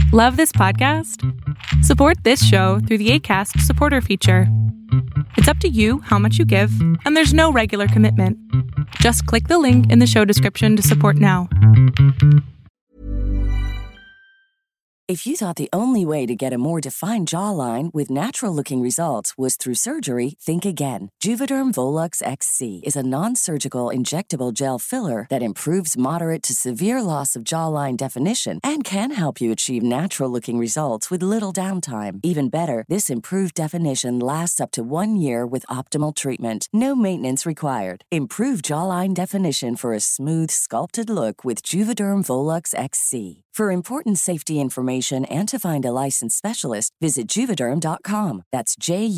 Love this podcast? Support this show through the Acast supporter feature. It's up to you how much you give, and there's no regular commitment. Just click the link in the show description to support now. If you thought the only way to get a more defined jawline with natural-looking results was through surgery, think again. Juvederm Volux XC is a non-surgical injectable gel filler that improves moderate to severe loss of jawline definition and can help you achieve natural-looking results with little downtime. Even better, this improved definition lasts up to 1 year with optimal treatment. No maintenance required. Improve jawline definition for a smooth, sculpted look with Juvederm Volux XC. For important safety information and to find a licensed specialist, visit Juvederm.com. That's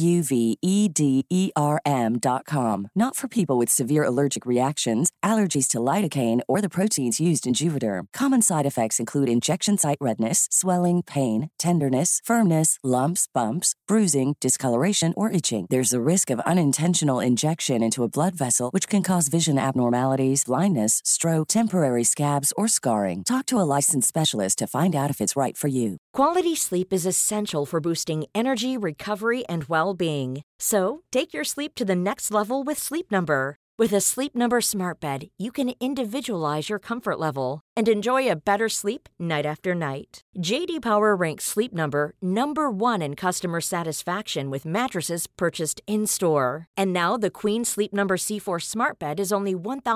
Juvederm.com. Not for people with severe allergic reactions, allergies to lidocaine, or the proteins used in Juvederm. Common side effects include injection site redness, swelling, pain, tenderness, firmness, lumps, bumps, bruising, discoloration, or itching. There's a risk of unintentional injection into a blood vessel, which can cause vision abnormalities, blindness, stroke, temporary scabs, or scarring. Talk to a licensed specialist to find out if it's right for you. Quality sleep is essential for boosting energy, recovery, and well-being. So, take your sleep to the next level with Sleep Number. With a Sleep Number smart bed, you can individualize your comfort level and enjoy a better sleep night after night. J.D. Power ranks Sleep Number number 1 in customer satisfaction with mattresses purchased in-store. And now the Queen Sleep Number C4 smart bed is only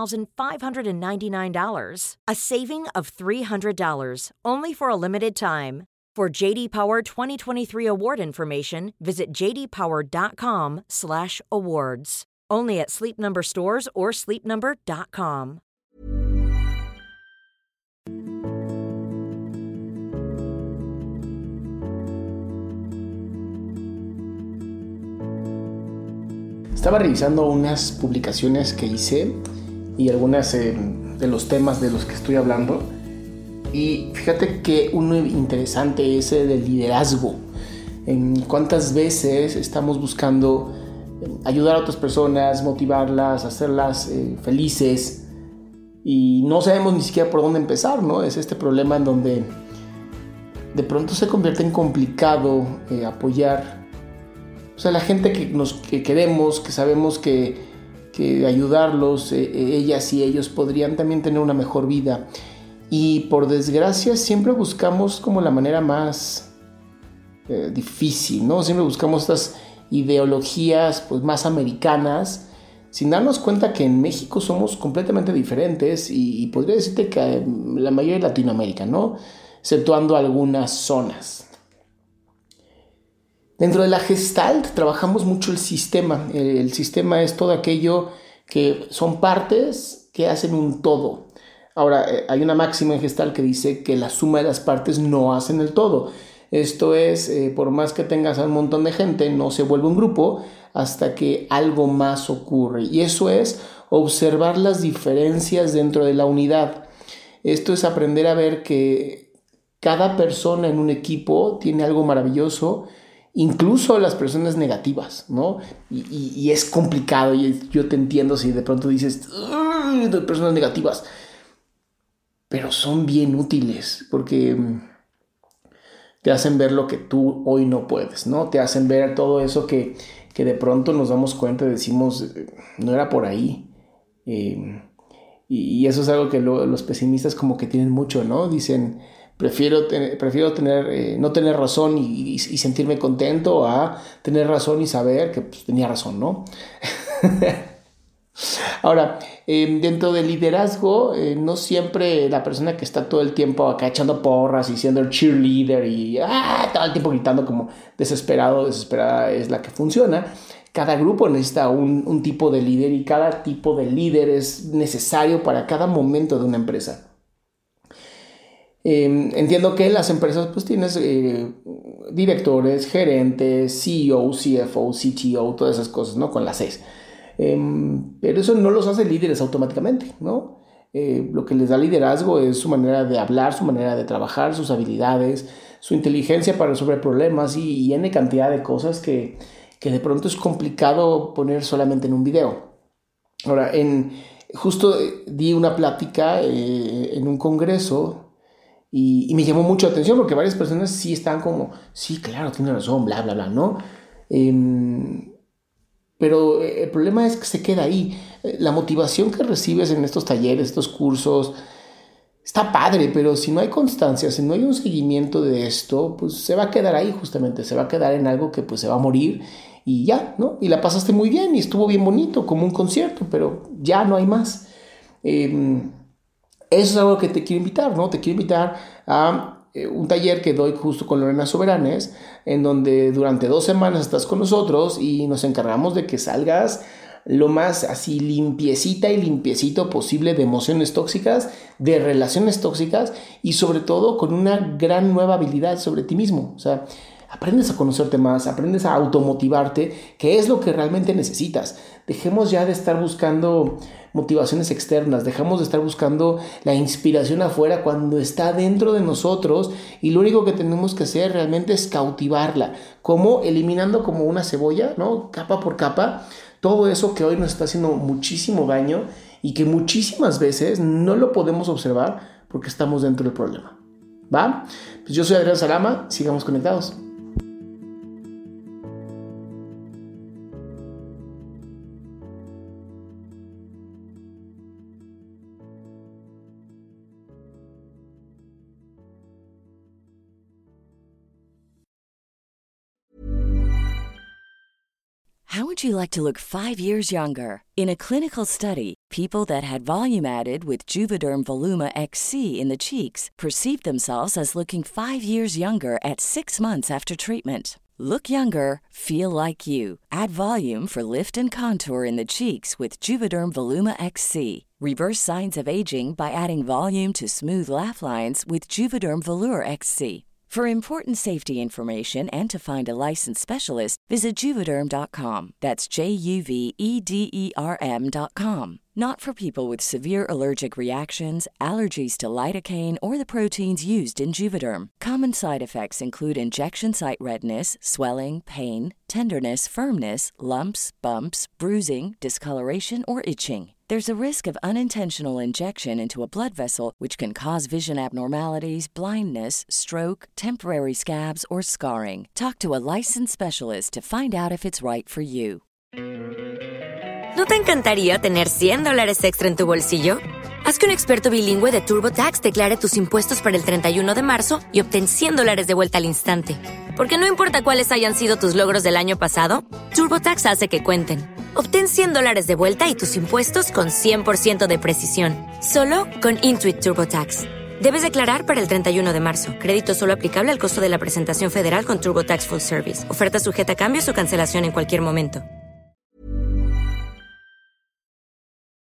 $1,599, a saving of $300, only for a limited time. For J.D. Power 2023 award information, visit jdpower.com/awards. Only at Sleep Number stores or sleepnumber.com. Estaba revisando unas publicaciones que hice y algunas de los temas de los que estoy hablando. Y fíjate que uno interesante es el del liderazgo. ¿Cuántas veces estamos buscando ayudar a otras personas, motivarlas, hacerlas felices y no sabemos ni siquiera por dónde empezar, ¿no? Es este problema en donde de pronto se convierte en complicado apoyar, o sea, la gente que queremos, que sabemos que ayudarlos, ellas y ellos podrían también tener una mejor vida. Y por desgracia siempre buscamos como la manera más difícil, ¿no? Siempre buscamos estas ideologías pues más americanas, sin darnos cuenta que en México somos completamente diferentes y podría decirte que la mayoría de Latinoamérica, ¿no? Exceptuando algunas zonas. Dentro de la Gestalt trabajamos mucho el sistema. El sistema es todo aquello que son partes que hacen un todo. Ahora, hay una máxima en Gestalt que dice que la suma de las partes no hacen el todo. Esto es, por más que tengas a un montón de gente, no se vuelve un grupo hasta que algo más ocurre. Y eso es observar las diferencias dentro de la unidad. Esto es aprender a ver que cada persona en un equipo tiene algo maravilloso, incluso las personas negativas, ¿no? Y es complicado, y yo te entiendo si de pronto dices, de personas negativas, pero son bien útiles porque te hacen ver lo que tú hoy no puedes, ¿no? Te hacen ver todo eso que de pronto nos damos cuenta y decimos, no era por ahí. Y eso es algo que los pesimistas como que tienen mucho, ¿no? Dicen, prefiero no tener razón y sentirme contento a tener razón y saber que pues, tenía razón, ¿no? Ahora, dentro del liderazgo, no siempre la persona que está todo el tiempo acá echando porras y siendo el cheerleader y todo el tiempo gritando como desesperada es la que funciona. Cada grupo necesita un tipo de líder y cada tipo de líder es necesario para cada momento de una empresa. Entiendo que en las empresas pues tienes directores, gerentes, CEO, CFO, CTO, todas esas cosas, ¿no? Con las Cs. Pero eso no los hace líderes automáticamente, ¿no? Lo que les da liderazgo es su manera de hablar, su manera de trabajar, sus habilidades, su inteligencia para resolver problemas y N cantidad de cosas que de pronto es complicado poner solamente en un video. Ahora, justo di una plática en un congreso Y me llamó mucho la atención porque varias personas sí están como, sí, claro, tiene razón, bla, bla, bla, ¿no? Pero el problema es que se queda ahí. La motivación que recibes en estos talleres, estos cursos, está padre, pero si no hay constancia, si no hay un seguimiento de esto, pues se va a quedar ahí justamente, se va a quedar en algo que pues se va a morir y ya, ¿no? Y la pasaste muy bien y estuvo bien bonito, como un concierto, pero ya no hay más. Eso es algo que te quiero invitar, ¿no? Te quiero invitar a un taller que doy justo con Lorena Soberanes, en donde durante 2 semanas estás con nosotros y nos encargamos de que salgas lo más así limpiecita y limpiecito posible de emociones tóxicas, de relaciones tóxicas y sobre todo con una gran nueva habilidad sobre ti mismo. O sea, aprendes a conocerte más, aprendes a automotivarte, que es lo que realmente necesitas. Dejemos ya de estar buscando motivaciones externas, dejamos de estar buscando la inspiración afuera cuando está dentro de nosotros y lo único que tenemos que hacer realmente es cautivarla, como eliminando como una cebolla, ¿no? Capa por capa, todo eso que hoy nos está haciendo muchísimo daño y que muchísimas veces no lo podemos observar porque estamos dentro del problema. ¿Va? Pues yo soy Adrián Salama, sigamos conectados. How would you like to look 5 years younger? In a clinical study, people that had volume added with Juvederm Voluma XC in the cheeks perceived themselves as looking 5 years younger at 6 months after treatment. Look younger, feel like you. Add volume for lift and contour in the cheeks with Juvederm Voluma XC. Reverse signs of aging by adding volume to smooth laugh lines with Juvederm Volure XC. For important safety information and to find a licensed specialist, visit Juvederm.com. That's JUVEDERM.com. Not for people with severe allergic reactions, allergies to lidocaine, or the proteins used in Juvederm. Common side effects include injection site redness, swelling, pain, tenderness, firmness, lumps, bumps, bruising, discoloration, or itching. There's a risk of unintentional injection into a blood vessel, which can cause vision abnormalities, blindness, stroke, temporary scabs, or scarring. Talk to a licensed specialist to find out if it's right for you. ¿No te encantaría tener $100 extra en tu bolsillo? Haz que un experto bilingüe de TurboTax declare tus impuestos para el 31 de marzo y obtén $100 de vuelta al instante. Porque no importa cuáles hayan sido tus logros del año pasado, TurboTax hace que cuenten. Obtén $100 de vuelta y tus impuestos con 100% de precisión. Solo con Intuit TurboTax. Debes declarar para el 31 de marzo. Crédito solo aplicable al costo de la presentación federal con TurboTax Full Service. Oferta sujeta a cambios o cancelación en cualquier momento.